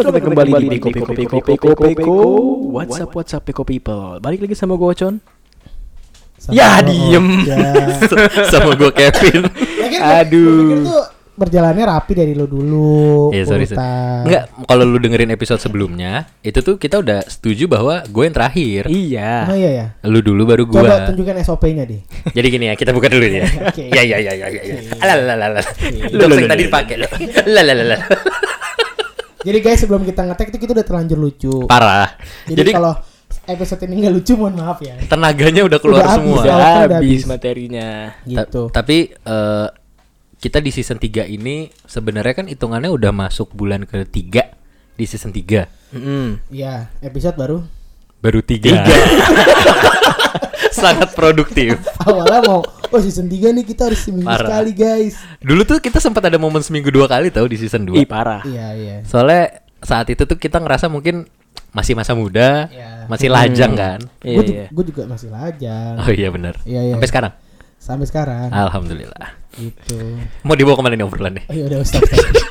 Selamat datang kembali di Peko. What's up Peko People. Balik lagi sama gue Ocon. Ya diem. Sama gue Kevin. Aduh. Itu berjalannya rapi dari lo dulu. Iya sorry. Enggak, kalau lu dengerin episode sebelumnya, itu tuh kita udah setuju bahwa gue yang terakhir. Iya. Oh iya ya. Lu dulu baru gue. Coba tunjukkan SOP-nya deh. Jadi gini ya, kita buka dulu ya. Oke. Ya. Alalala. Jokes yang tadi dipakai. Lalalala. Jadi guys, sebelum kita ngetek itu kita udah terlanjur lucu. Parah. Jadi kalau episode ini nggak lucu, mohon maaf ya. Tenaganya udah keluar Udah semua. Udah Udah habis habis. materinya. Gitu. Tapi kita di season 3 ini sebenarnya kan hitungannya udah masuk bulan ke-3 di season 3. Ya, episode Baru 3. Sangat produktif. awalnya mau season 3 nih kita harus seminggu Parah. sekali guys. Dulu tuh kita sempat ada momen seminggu 2 kali tau di season 2. Ih parah. Iya. Soalnya saat itu tuh kita ngerasa mungkin masih masa muda, Iya. masih lajang kan. Iya. Gue juga masih lajang. Oh iya benar. Iya. Sampai sekarang. Sampai sekarang. Alhamdulillah. Gitu. Mau dibawa kemana nih obrolannya? Oh, ya udah stop.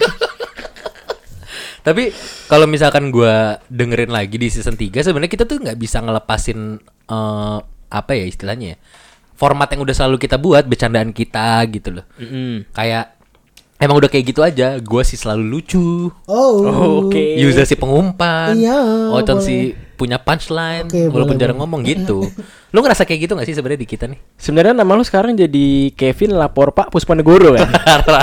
Tapi kalau misalkan gue dengerin lagi di season 3, sebenarnya kita tuh nggak bisa ngelepasin apa ya istilahnya ya, format yang udah selalu kita buat, bercandaan kita gitu loh. Kayak emang udah kayak gitu aja. Gue sih selalu lucu. Oh. Oke. Yuza si pengumpan. Iya, Ocon boleh. si punya punchline. Oke, walaupun boleh, jarang ngomong gitu. Lu ngerasa kayak gitu gak sih sebenarnya di kita nih? Sebenarnya nama lu sekarang jadi Kevin Lapor Pak Puspanegoro kan?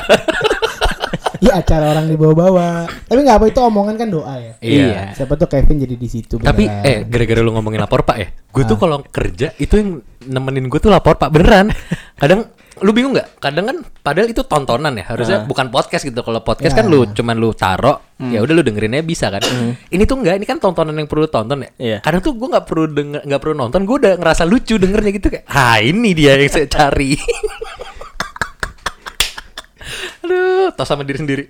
Iya, acara orang dibawa-bawa. Tapi nggak apa, itu omongan kan doa ya. Iya. Siapa tuh Kevin jadi di situ. Tapi beneran. gara-gara lu ngomongin lapor Pak ya, gue tuh kalau kerja itu yang nemenin gue tuh lapor Pak beneran. Kadang lu bingung nggak? Kadang kan padahal itu tontonan ya, harusnya bukan podcast gitu. Kalau podcast Ya. kan lu cuman lu taro, ya udah lu dengerinnya bisa kan. Ini tuh enggak, ini kan tontonan yang perlu tonton ya. Iya. Kadang tuh gue nggak perlu nonton, gue udah ngerasa lucu dengernya gitu kayak, ini dia yang saya cari. Aduh, tos sama diri sendiri.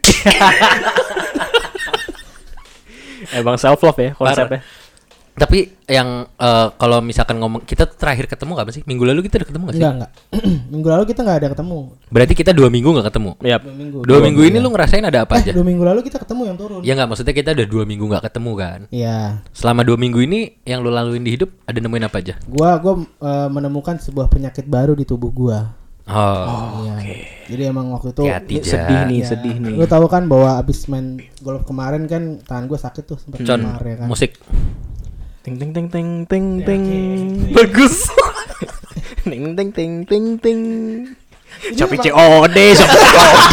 Emang self love ya konsepnya. Tapi yang kalau misalkan ngomong, kita terakhir ketemu kapan sih? Minggu lalu kita udah ketemu gak sih? Enggak. Minggu lalu kita nggak ada ketemu. Berarti kita 2 minggu gak ketemu. Yap. 2 minggu. 2 minggu ini lu ngerasain ada apa aja? 2 minggu lalu kita ketemu yang turun. Ya nggak, maksudnya kita udah 2 minggu nggak ketemu kan. Iya. Selama 2 minggu ini yang lu laluin di hidup ada nemuin apa aja? Gua menemukan sebuah penyakit baru di tubuh gua. Oh, Iya. Jadi emang waktu itu hati-hati Sedih nih. Lu tahu kan bahwa abis main golf kemarin kan tangan gua sakit tuh sempat Con, kemar ya kan. musik. Ting ting ting ting ting ting. Bagus. Ting ting ting ting ting. Shopee emang- COD, Shopee COD.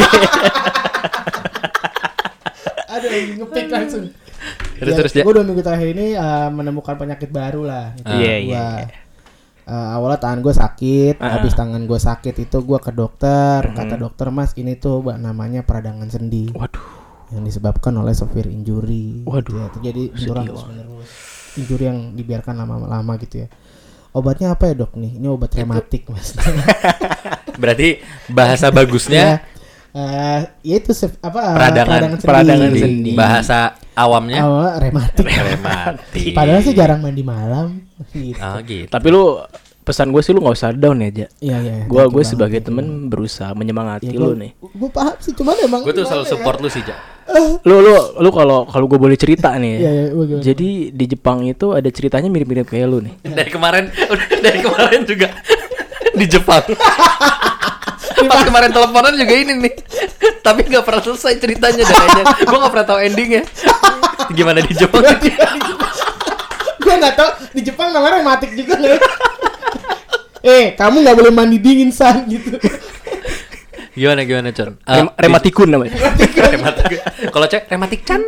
Aduh, ngepick langsung. Terus ya. Gue 2 minggu terakhir ini menemukan penyakit baru lah. Iya. Awalnya tangan gue sakit, habis tangan gue sakit itu gue ke dokter, kata dokter, mas ini tuh namanya peradangan sendi. Waduh. Yang disebabkan oleh severe injury. Waduh. Ya, terjadi benturan terus-menerus. Injury yang dibiarkan lama-lama gitu ya. Obatnya apa ya dok nih? Ini obat rematik mas. Berarti bahasa bagusnya Ya itu peradangan sendi. Bahasa awamnya rematik. rematik. Padahal sih jarang mandi malam. Gitu. Oh gitu. Tapi lu pesan gue sih lu nggak usah down ya, Ja. Iya. Gue sebagai temen berusaha menyemangati lu nih. Gue paham sih, cuman emang Gue tuh selalu gimana support lu sih, Ja. Lu kalau gue boleh cerita nih. Iya, gimana? Jadi di Jepang itu ada ceritanya mirip-mirip kayak lu nih. Dari kemarin juga di Jepang. Pas kemarin teleponan juga ini nih. Tapi gak pernah selesai ceritanya dan kayaknya gue gak pernah tahu endingnya. Gimana di Jepang? Gue nggak tahu di Jepang namanya rematik juga nggak? Kamu nggak boleh mandi dingin san gitu. Gimana Con? Rematikun namanya. Rematik. Kalau cek rematik Chan.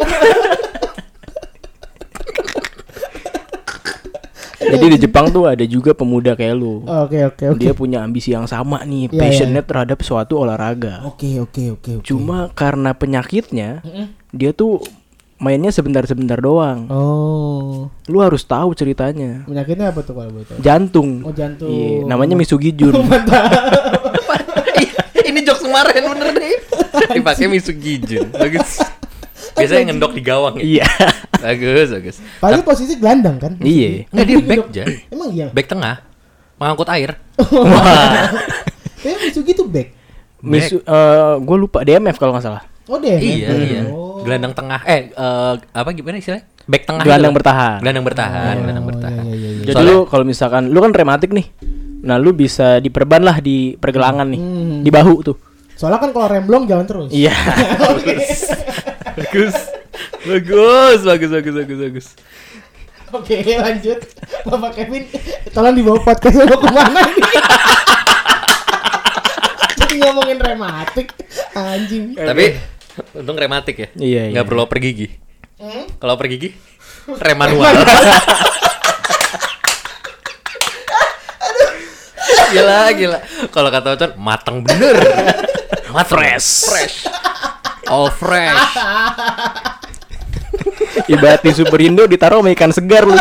Jadi di Jepang tuh ada juga pemuda kayak lu. Oke. Dia punya ambisi yang sama nih, Iya, passionate terhadap suatu olahraga. Oke. Cuma karena penyakitnya, dia tuh mainnya sebentar-sebentar doang. Oh, Lu harus tahu ceritanya. penyakitnya apa tuh kalau boleh tahu? Jantung. Oh, jantung. Iya, namanya Misugijun. Ini jokes kemarin bener nih. Dipakai Misugijun. Bagus. Biasanya ngendok di gawang ya. Iya. Bagus. Paling posisi gelandang kan? Iya. Enggak, dia back aja. Emang iya. Back tengah. Mengangkut air. Wah. Kayaknya Misugi tuh back. Gue lupa DMF kalau nggak salah. Oh deh. Iya. Gelandang tengah apa gimana istilahnya? Back tengah. Gelandang gitu. bertahan. Gelandang bertahan. Iya. Jadi lu kalau misalkan lu kan rematik nih. Nah, lu bisa diperban lah di pergelangan nih. Di bahu tuh. Soalnya kan kalau remblong jalan terus. Iya. Bagus. Oke, lanjut. Bapak Kevin, tolong dibawa podcast lu kemana ini? Jadi ngomongin rematik, anjing. Tapi untung rematik ya. Iya. Nggak perlu oper gigi. Kalau oper gigi, rem manual. Gila. Kalau kata Ocon, mateng bener. Fresh. All fresh. Ibarat di Superindo ditaruh sama ikan segar lu.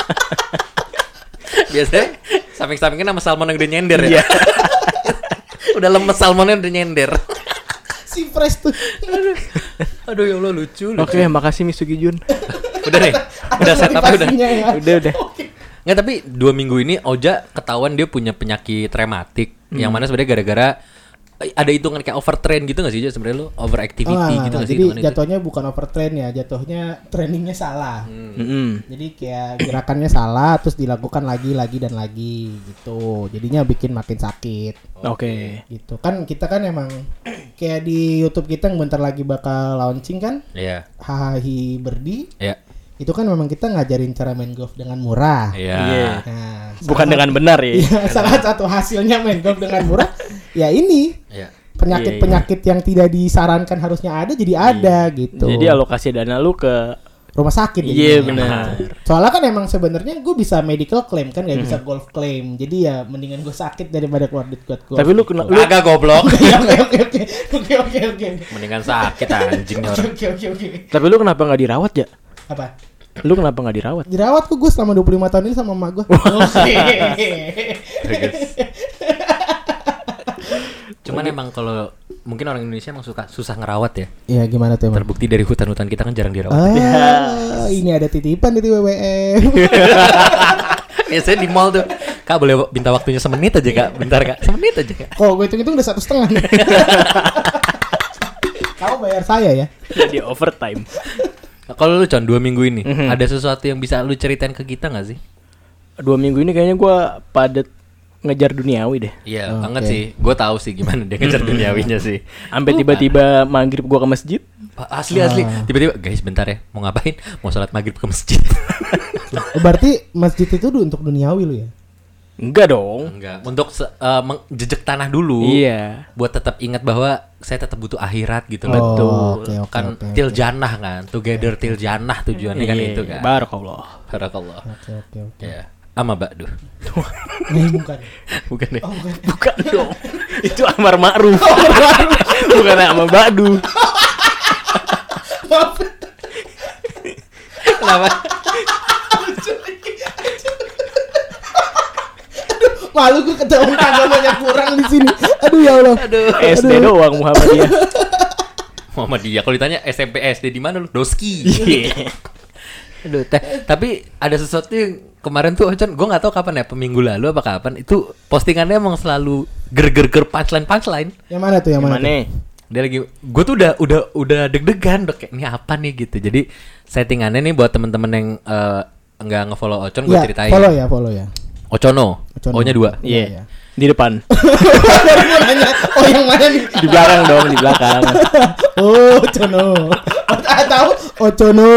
Biasanya samping-sampingnya nama salmon yang udah nyender ya. Udah lemes salmonnya udah nyender. Si fresh tuh. Aduh ya Allah lucu. Oke, makasih Misugi Jun. Udah nih. Udah setup udah. Ya. Udah. Nggak, tapi 2 minggu ini Oja ketahuan dia punya penyakit rematik. Yang mana sebenarnya gara-gara ada hitungan kayak overtrain gitu nggak sih, sebenarnya lu overactivity gitu nggak sih? Jadi jatuhnya bukan overtrain ya, jatuhnya trainingnya salah. Jadi kayak gerakannya salah, terus dilakukan lagi dan lagi gitu. Jadinya bikin makin sakit. Oke. Gitu kan, kita kan emang kayak di YouTube kita yang bentar lagi bakal launching kan? Iya. Hahahi Berdi. Iya. Itu kan memang kita ngajarin cara main golf dengan murah. Iya. Nah, Bukan dengan benar ya. Iya, salah satu hasilnya main golf dengan murah ya ini. Iya. Penyakit-penyakit yang tidak disarankan harusnya ada jadi ada gitu. Jadi alokasi dana lu ke rumah sakit. Iya, jadinya. benar. Soalnya kan emang sebenarnya gue bisa medical claim kan, nggak bisa golf claim. Jadi ya mendingan gue sakit daripada keluar duit golf. Tapi lu kena Agak goblok. Oke. Mendingan sakit anjing nih orang. Oke. Tapi lu kenapa nggak dirawat ya? Apa? Lu kenapa nggak dirawat? Dirawat kok gue selama 25 tahun ini sama emak gue. Cuman emang kalau mungkin orang Indonesia emang susah ngerawat ya. Iya, gimana tuh emang? Terbukti dari hutan-hutan kita kan jarang dirawat. Ini ada titipan dari WWM. Biasanya di mall tuh, Kak boleh minta waktunya semenit aja Kak. Bentar Kak, semenit aja Kak. Kok gue hitung-hitung udah 1,5. Kamu bayar saya ya. Jadi overtime. Kalau lu Con 2 minggu ini ada sesuatu yang bisa lu ceritain ke kita nggak sih? 2 minggu ini kayaknya gua padet ngejar duniawi deh. Iya banget sih. Gue tahu sih gimana dia ngejar duniawinya sih. Sampai tiba-tiba maghrib gua ke masjid. Asli. Tiba-tiba guys bentar ya. Mau ngapain? Mau sholat maghrib ke masjid. Berarti masjid itu untuk duniawi lu ya? Enggak dong. Enggak. Untuk jejak tanah dulu. Iya. Buat tetap ingat bahwa saya tetap butuh akhirat gitu. Betul. Kan til jannah kan. Together til jannah tujuannya kan itu kan. Barakallah. Oke. Ya. Ama Ba'du. Bukan. Bukan deh. Bukan dong. Itu Amar Ma'ruf. Bukan sama Ba'du. Maaf. Kenapa? Malu gue ketahuan agamanya kurang di sini. Aduh ya Allah. SD doang Muhammadiyah. Muhammadiyah. Kalau ditanya SMP SD di mana lu? Doski. Aduh, tapi ada sesuatu yang kemarin tuh Ocon, gue nggak tahu kapan ya, minggu lalu apa kapan itu postingannya emang selalu ger punchline. Yang mana tuh? Yang mana? Dia lagi, gue tuh udah deg-degan, udah kayak ini apa nih gitu. Jadi settingannya nih buat temen-temen yang nggak ngefollow Ocon, gue ceritain. Follow ya. Ocono. O-nya 2. Iya. Di depan. Oh yang mana nih? Di belakang dong, di belakang. Oh Ocono. Tahu Ocono.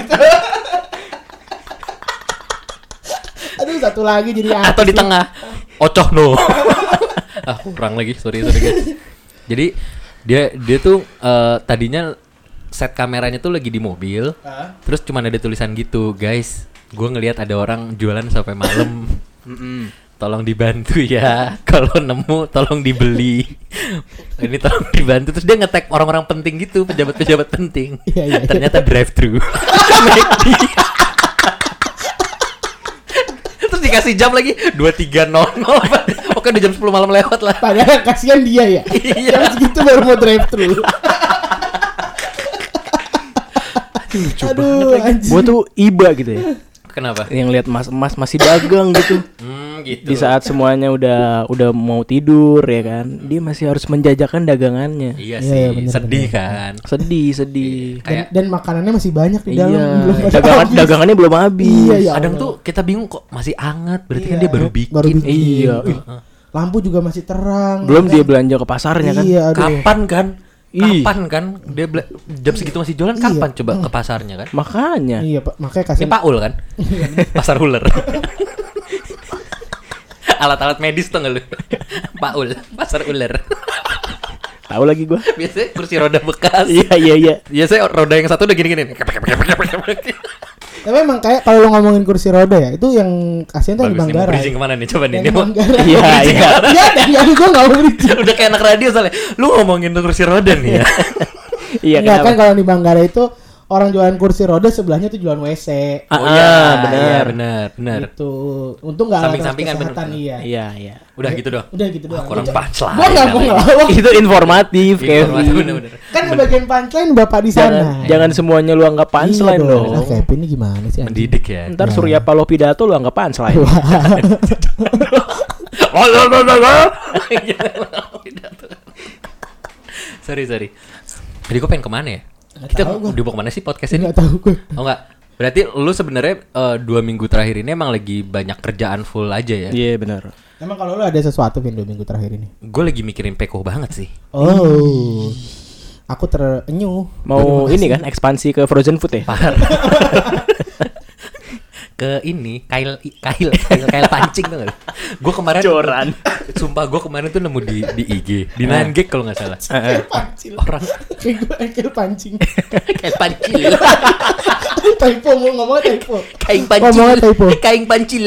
Aduh satu lagi jadi atau di tengah Ocohno. Kurang lagi, sorry guys. Jadi dia tuh tadinya set kameranya tuh lagi di mobil. Terus cuma ada tulisan gitu, guys. Gue ngelihat ada orang jualan sampai malam. Tolong dibantu ya. Kalau nemu tolong dibeli. Ini tolong dibantu. Terus dia nge-tag orang-orang penting gitu, pejabat-pejabat penting. Iya. Ternyata drive-thru. Terus dikasih jam lagi 23.00. Oke udah jam 10 malam lewat lah. Padahal kasihan dia ya. Iya. Jam segitu baru mau drive-thru. Aduh, anjir. Gua tuh iba gitu ya. Kenapa? Yang lihat mas-mas masih dagang gitu. gitu. Di saat semuanya udah mau tidur ya kan, dia masih harus menjajakan dagangannya. Iya Iya, sih, iya, bener, sedih bener. kan. Sedih. Kayak Dan makanannya masih banyak di dalam. Iya, Belum pada habis. dagangannya belum habis. Iya, ya kadang Allah. tuh kita bingung kok masih anget, berarti kan Iya, dia baru bikin. baru bikin. Iya. Lampu juga masih terang. Belum kan? dia belanja ke pasarnya kan. Iya, aduh. Kapan kan? Ih. Kapan kan? Dia jam segitu masih jualan, Iya. kapan coba ke pasarnya kan? Makanya. Iya, Pak. Makanya Ini kasih Pak Ul kan? Pasar ular. Alat-alat medis tuh nggak lu? Pak Ul, pasar ular. Tahu lagi gua. Biasanya kursi roda bekas. Iya. Biasanya roda yang satu udah gini-gini. Tapi emang kayak kalau lo ngomongin kursi roda ya, itu yang kasihan tuh di Bagus nih, mau Manggarai. bridging kemana nih? Coba nih. Yang Ini di mau Manggarai. Iya. Iya, dan gue gak mau bridging. udah kayak anak radio soalnya. Lu ngomongin kursi roda nih ya. Iya Enggak kan kenapa? kalau di Manggarai itu orang jualan kursi roda sebelahnya tuh jualan WC. Ah, Iya, benar. benar. Gitu. Untung enggak Samping-sampingan kesehatan bener. iya. Iya. Udah gitu doang. Udah gitu doang. Kurang punchline. Gua enggak mau ngelawak. Itu informatif, Kevin. Bener-bener. Kan bagian punchline Bapak di sana. Jangan semuanya lu anggap punchline Iya dong. Ah, Kevin ini gimana sih? anjing? Mendidik ya. Ntar Surya Paloh pidato lu anggap punchline. Sorry. Jadi gue pengen kemana ya? Kita tahu gua. dibawa kemana sih podcast ini? Enggak tahu gue. Oh enggak. Berarti lu sebenarnya 2 minggu terakhir ini emang lagi banyak kerjaan full aja ya? Iya benar. Emang kalau lu ada sesuatu Vin 2 minggu terakhir ini? Gue lagi mikirin Peko banget sih. Oh. Aku terenyuh. Mau ini kan ekspansi ke frozen food ya? Ke ini kail pancing tuh nggak? Gue kemarin Joran. Sumpah gue kemarin tuh nemu di IG di 9gag kalau nggak salah. Pancil. Orang Kayak gue engkel pancing. kail pancil. Typo mau ngomongnya typo. Kain Ngomongnya pancil. typo. Kain pancil.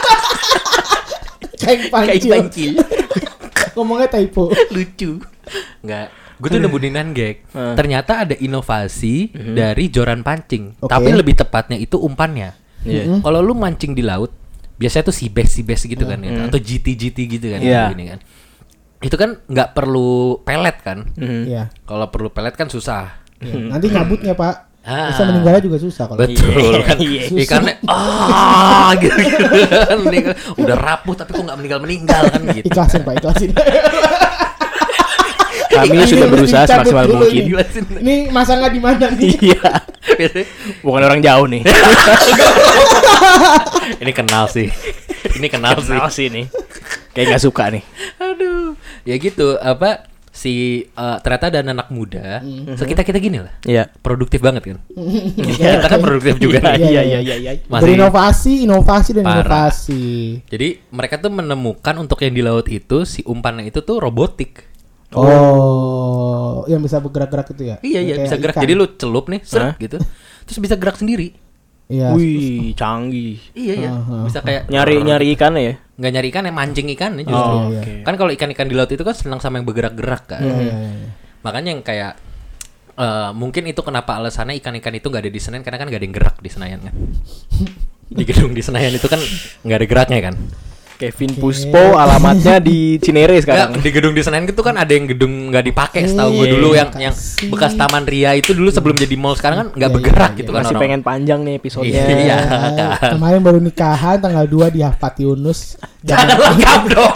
Kayak Kain pancil. pancil. Ngomongnya typo. Lucu. Enggak. Gue tuh nemu di 9gag. Ternyata ada inovasi dari joran pancing. Oke. Tapi lebih tepatnya itu umpannya. Iya. Kalau lu mancing di laut, biasanya tuh si bes gitu kan ya, atau GT gitu kan, Iya. gini kan. Itu kan nggak perlu pelet kan? Iya. Kalau perlu pelet kan susah. Iya. Nanti nyabutnya Pak. Ah. Bisa meninggalnya juga susah kalau. Betul kan? Iya. Ikannya gitu kan. Meninggal. Udah rapuh tapi kok nggak meninggal kan gitu. Ikhlasin Pak, ikhlasin. Kami sudah berusaha Cabut semaksimal dulu mungkin. ini. Ini masangnya di mana nih? Iya. Biasanya, Bukan orang jauh nih. ini kenal sih. Ini kenal sih. Kenal sih nih. Kayak nggak suka nih. Aduh. Ya gitu, apa ternyata ada anak muda sekitar kita gini lah. Iya. Produktif banget kan. Kita kan produktif juga. Iya. Masih Berinovasi, inovasi dan Parah. inovasi. Jadi mereka tuh menemukan untuk yang di laut itu si umpannya itu tuh robotik. Oh, yang bisa bergerak-gerak itu ya? Iya Kayak bisa gerak. ikan. Jadi lu celup nih, Hah? gitu. Terus bisa gerak sendiri. Iya. Wih, canggih. Iya. Bisa kayak Nyari ikannya ya? nggak nyari ikan, yang mancing ikannya justru. Oh, iya, oke. Kan kalau ikan-ikan di laut itu kan senang sama yang bergerak-gerak kan. Iya. Makanya yang kayak mungkin itu kenapa alasannya ikan-ikan itu nggak ada di Senayan, karena kan nggak ada yang gerak di Senayan kan. Di gedung di Senayan itu kan nggak ada geraknya kan. Kevin Puspo alamatnya di Cinere sekarang. Nggak, di gedung di Senayan itu kan ada yang gedung nggak dipakai setahu gue Iya, dulu yang makasih. bekas Taman Ria itu dulu sebelum jadi mall, sekarang kan nggak Iya, bergerak iya, gitu kan Masih orang. pengen panjang nih episodenya. Iya. kan. Kemarin baru nikahan tanggal 2 di Hafat Yunus. Jangan lengkap dong.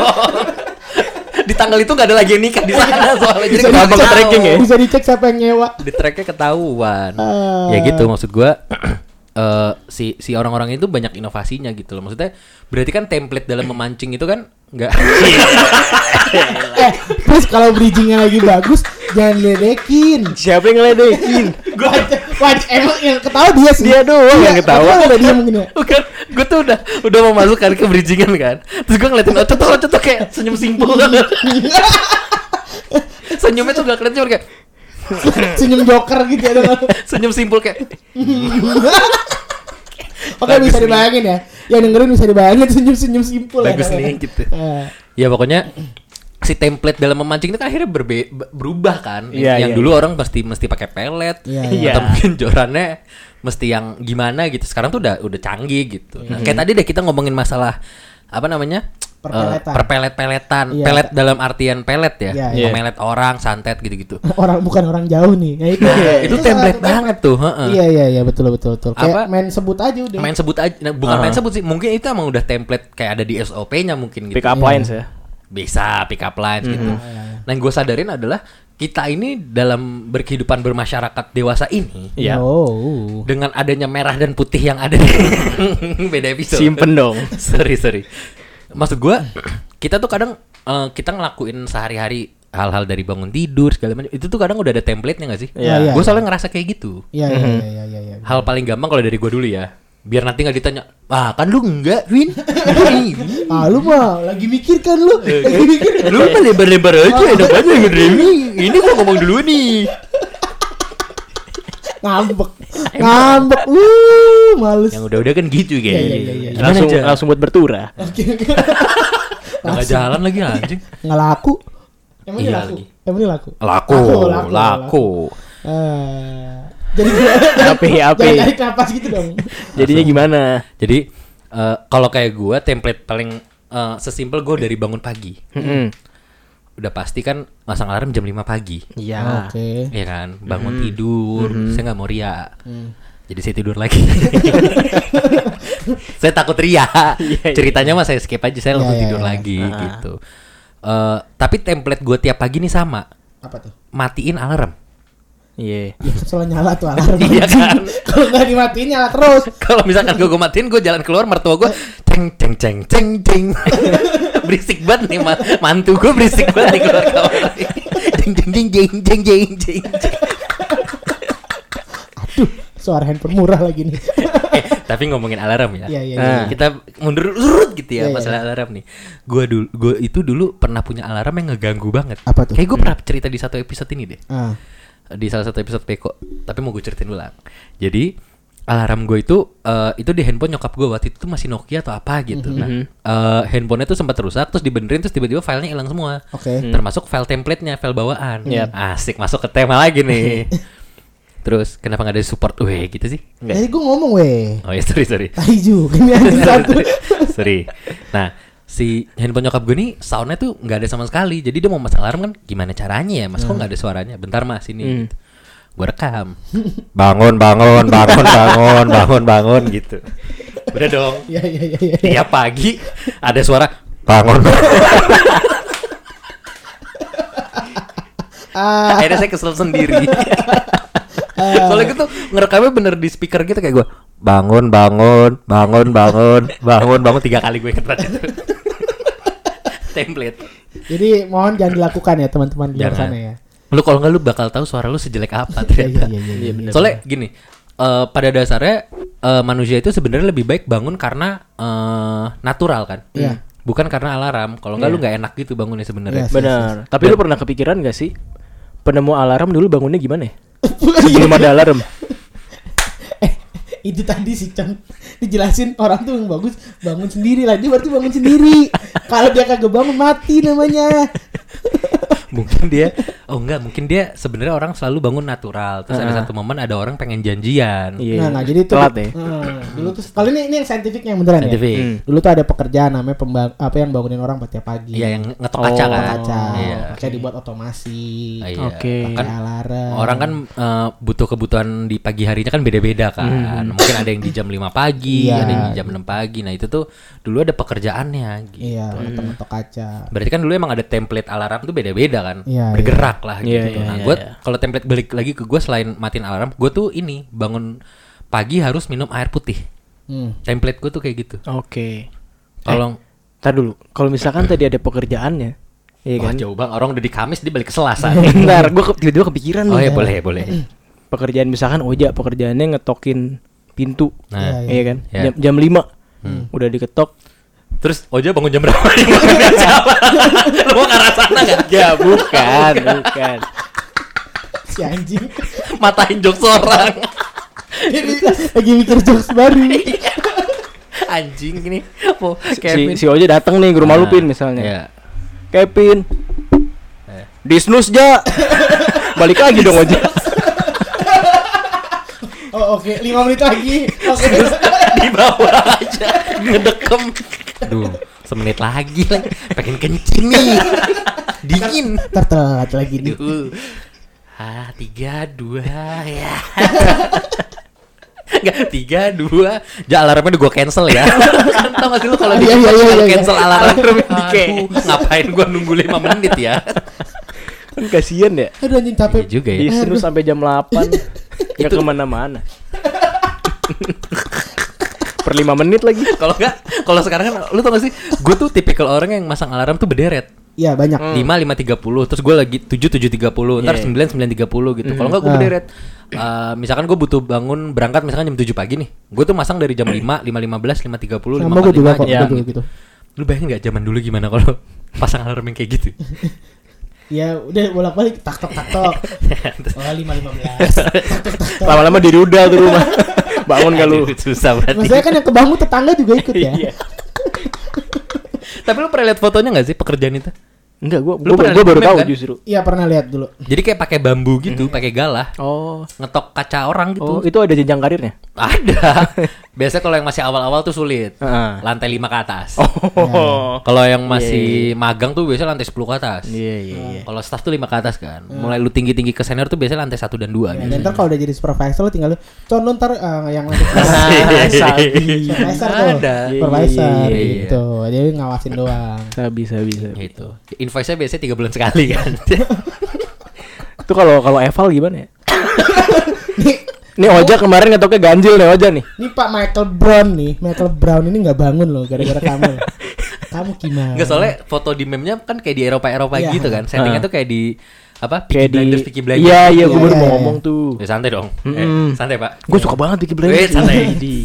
Di tanggal itu nggak ada lagi yang nikah di sana soalnya, jadi Bisa gampang dicek, ke-tracking ya. Bisa dicek siapa yang nyewa. Di tracknya ketahuan. Ah. Ya gitu maksud gua. Si orang-orang itu banyak inovasinya gitu loh. Maksudnya berarti kan template dalam memancing itu kan nggak. Terus kalau bridgingnya lagi bagus, jangan ledekin. Siapa yang ngeledekin? Wajah emang yang ketawa dia sih. Dia doang yang ketawa. Udah dia mungkin ya. Bukan, gue tuh udah mau masuk kan ke bridgingan kan. Terus gue ngeliatin Ocot tuh kayak senyum simpul. Senyumnya tuh gak kelihatan, cuma kayak Senyum joker gitu ya. senyum simpul kayak. Oke, Bagus bisa nih. dibayangin ya. Yang dengerin bisa dibayangin senyum-senyum simpul Bagus ya. nih gitu. Eh, Ya pokoknya si template dalam memancing itu kan akhirnya berubah kan. Iya, Yang iya, dulu orang mesti pakai pelet, Iya, iya. atau mungkin jorannya mesti yang gimana gitu. Sekarang tuh udah canggih gitu. Nah, kayak tadi deh kita ngomongin masalah apa namanya? perpelet-peletan, Iya. pelet dalam artian pelet ya, Iya. memelet orang, santet gitu-gitu. bukan orang jauh nih. Ya, Itu template banget tuh, heeh. Iya betul. Kayak Apa? main sebut aja udah. Main sebut aja, nah, bukan main sebut sih, mungkin itu emang udah template kayak ada di SOP-nya mungkin gitu. Pick up lines ya. Bisa pick up lines gitu. Nah, yang gue sadarin adalah kita ini dalam berkehidupan bermasyarakat dewasa ini, Iya. Oh. dengan adanya merah dan putih yang ada beda episode. Simpen dong. sorry. Maksud gue, kita tuh kadang kita ngelakuin sehari-hari hal-hal dari bangun tidur segala macam. Itu tuh kadang udah ada template-nya nggak sih? Iya. Gue selalu ngerasa kayak gitu. Iya. Hal paling gampang kalau dari gue dulu ya. Biar nanti nggak ditanya, kan lu enggak, Win? Lu mah lagi mikir kan lu. Lu mah lebar-lebar aja, enak aja ngedremi. Ini gua ngomong dulu nih. Ngambek. Males. Yang udah-udah kan gitu kayak. Iya. Langsung buat bertura. Oke. Nggak jalan lagi anjing. Nggak laku. Emang Iya ini laku? lagi. Emang ini laku? Laku. Jadi Api. jangan tarik napas gitu dong. Jadinya gimana? Jadi kalau kayak gua template paling sesimpel gua dari bangun pagi. Udah pasti kan masang alarm jam 5 pagi. Iya. Oke. Iya kan, bangun tidur, saya nggak mau ria. Jadi saya tidur lagi. Saya takut ria. Ceritanya mah saya skip aja, saya langsung Iya, tidur iya. lagi gitu. Tapi template gue tiap pagi nih sama, Apa tuh? matiin alarm. Iya. Ya soalnya nyala tuh alarm. Iya kan? Kalau nggak dimatiin nyala terus. Kalau misalkan gue matiin, gue jalan keluar, mertua gue ceng. Berisik banget nih, mantu gue berisik banget nih keluar kamar. Jeng. Aduh, suara handphone murah lagi nih. Tapi ngomongin alarm ya. Iya. Kita mundur urut gitu ya Iya, masalah alarm nih. Gue itu dulu pernah punya alarm yang ngeganggu banget. Apa tuh? Kayak gue pernah cerita di satu episode ini deh. Ah. Di salah satu episode Peko. Tapi mau gue ceritain ulang. Jadi alarm gue itu di handphone nyokap gue waktu itu tuh masih Nokia atau apa gitu. Nah, handphonenya tuh sempat rusak, terus dibenerin, terus tiba-tiba filenya hilang semua. Oke. Termasuk file template-nya, file bawaan. Yep. Asik, masuk ke tema lagi nih. Terus kenapa nggak ada support gitu sih? Jadi gue ngomong weh. Oh ya, sorry. Tai juga nih anjing satu. Sorry. Nah, si handphone nyokap gue nih soundnya tuh nggak ada sama sekali. Jadi dia mau masang alarm kan gimana caranya ya? Mas kok nggak ada suaranya? Bentar mas ini. Gitu. Gue rekam. Bangun gitu. Udah dong. Iya. Tiap pagi ada suara bangun. Akhirnya saya kesel sendiri. Soalnya gitu ngerekamnya bener di speaker gitu kayak gue bangun 3 kali gue inget banget itu. Template. Jadi mohon jangan dilakukan ya teman-teman di luar Jangan. sana ya. Lu kalau nggak lu bakal tahu suara lu sejelek apa ternyata. Iya. Soalnya gini, pada dasarnya manusia itu sebenarnya lebih baik bangun karena natural kan. Iya. Bukan karena alarm. Kalau nggak lu nggak enak gitu bangunnya sebenarnya. Iya. Benar. Tapi lu pernah kepikiran gak sih penemu alarm dulu bangunnya gimana ya? Sebelum ada alarm. Itu tadi sih Cang dijelasin orang tuh yang bagus bangun sendiri lah, dia berarti bangun sendiri. Kalau dia kagak bangun mati namanya. Mungkin dia sebenarnya orang selalu bangun natural. Terus ada satu momen ada orang pengen janjian. Iya. Nah, jadi itu telat ya. dulu tuh kalau ini yang saintifiknya yang beneran Saintifik. ya. Dulu tuh ada pekerjaan namanya yang bangunin orang tiap pagi. Iya, yang ngetok kaca kan. Kaca. Iya. Kayak dibuat otomasi. Iya. Oke. Bahkan Kayak alarm. orang kan butuh kebutuhan di pagi harinya kan beda-beda kan. Mungkin ada yang di jam 5 pagi, Iya. ada yang di jam 6 pagi. Nah, itu tuh dulu ada pekerjaannya gitu. Iya, ngetok kaca. Berarti kan dulu emang ada template alarm tuh beda-beda kan. Iya, Bergerak lah gitu. Iya, Nah, iya, gue iya. kalau template balik lagi ke gue selain matiin alarm, gue tuh ini bangun pagi harus minum air putih. Template gue tuh kayak gitu. Oke. Kalau Tar dulu. Kalau misalkan tadi ada pekerjaannya, iya wah kan? jauh banget, orang udah di Kamis dia balik ke Selasa. Bentar, gue tiba-tiba kepikiran Oh nih. ya boleh. Pekerjaan misalkan Oja pekerjaannya ngetokin pintu. Nah, Iya kan? Iya. Jam 5. Udah diketok. terus Oja bangun jam berapa? Lu mau ke arah sana nggak? Ya, bukan. Si anjing. Matain jokes orang. Jadi lagi mikir jokes baru. Anjing ini. Si Oja datang nih ke rumah lu Pin misalnya. Iya. Kevin. Disnus Ja. Balik lagi dong Oja. Oh oke, 5 menit lagi. Oke. Di bawah aja ngedekem. Aduh, Semenit lagi pengen kencing nih. Dingin. Tertelat lagi nih. 3, 2 ya. Enggak, 3, 2. Alarmnya udah gue cancel ya. Kan tau gak sih lu kalau di cancel alarm ngapain gue nunggu 5 menit ya. Kan kasihan ya. Aduh anjing capek. Iya juga ya. Disuruh sampai jam 8. Enggak kemana-mana. Per 5 menit lagi. Kalau sekarang kan lu tau gak sih, gue tuh tipikal orang yang masang alarm tuh berderet. Iya banyak. 5, 5.30, terus gue lagi 7, 7.30, ntar 9, 9.30 gitu. Kalau enggak gue berderet. Misalkan gue butuh bangun berangkat misalkan jam 7 pagi nih, gue tuh masang dari jam 5, 5.15, 5.30, 5.45 Sama gue juga kok gitu. Lu bayangin gak zaman dulu gimana kalau pasang alarm yang kayak gitu? Ya udah bolak-balik tak tok. Oh 5.15. Lama-lama di rudal tuh rumah. Bangun gak lu? Susah berarti. Maksudnya kan yang kebangun tetangga juga ikut ya. Tapi lu pernah lihat fotonya gak sih pekerjaan itu? Enggak, Lu gue pernah baru liat tahu kan? justru. Iya pernah lihat dulu. Jadi kayak pakai bambu gitu, pakai galah, Oh. ngetok kaca orang gitu. Oh, itu ada jenjang karirnya? Ada. Biasanya kalau yang masih awal-awal tuh sulit. Heeh. Lantai 5 ke atas. Oh. Kalau yang masih magang tuh biasanya lantai 10 ke atas. Iya. Kalau staff tuh 5 ke atas kan. Mulai lu tinggi-tinggi ke senior tuh biasanya lantai 1 dan 2 Ya, gitu. dan ntar kalau udah jadi supervisor lo tinggal lu condong ntar yang lanjut Sabi. supervisor tuh. Ada. Supervisor Iya. gitu. Jadi ngawasin doang. Sabi. Gitu. Invoice-nya biasanya 3 bulan sekali kan. Itu kalau eval gimana ya? Nih, Nih Oja kemarin ngetoknya ganjil nih Oja nih. nih Pak Michael Brown ini nggak bangun loh gara-gara kamu. Kamu gimana? Enggak, soalnya foto di meme-nya kan kayak di Eropa Iya. gitu kan. Settingnya tuh kayak di apa? Kayak Peaky Blinders. Iya, gue baru Iya, mau iya. ngomong tuh. Ya santai dong. Santai, Pak. Gue suka banget Peaky Blinders. Santai.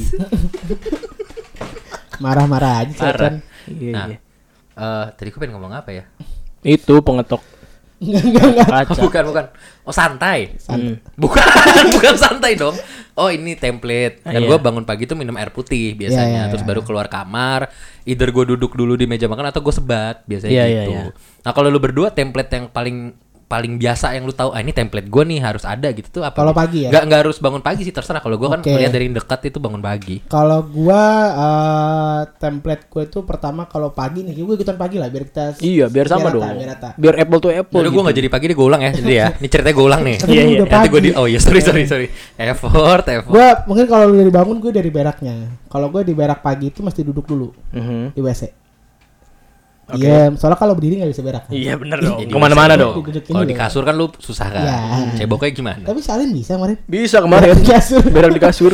Marah-marah aja sih Parah. kan. Iya. Nah, tadi gue pengen ngomong apa ya? Itu pengetok Enggak. kaca. Bukan. Oh, santai. Hmm. Bukan santai dong. Oh, ini template. Dan Iya. gue bangun pagi tuh minum air putih biasanya. Iya. Terus baru keluar kamar. Either gue duduk dulu di meja makan atau gue sebat biasanya Iya, gitu. iya. Nah, kalau lu berdua template yang paling biasa yang lu tahu, ini template gue nih harus ada gitu tuh apa? Kalau pagi ya? Nggak harus bangun pagi sih, terserah. Kalau gue kan Oke. ngeliat dari dekat itu bangun pagi. Kalau gua template gue tuh pertama kalau pagi nih, gue ikutan pagi lah biar kita Iya, biar sama rata, dong. biar rata. Biar apple to apple. Udah gue nggak jadi pagi deh, gue ulang ya. Jadi ya, ini ceritanya gue ulang nih. Tapi Iya, ini iya. udah Nanti gue pagi. oh iya sorry. Effort. Gue mungkin kalau lu dari bangun gue dari beraknya. Kalau gue di berak pagi itu mesti duduk dulu di WC. Iya, soalnya kalau berdiri nggak bisa berak. Iya bener dong. Jadi Kemana-mana bisa dong. Didudukin Kalau dulu. di kasur kan lu susah kan. Iya. Ceboknya gimana? Tapi salin bisa kemarin. Bisa kemarin. Berak di kasur. Berak di kasur.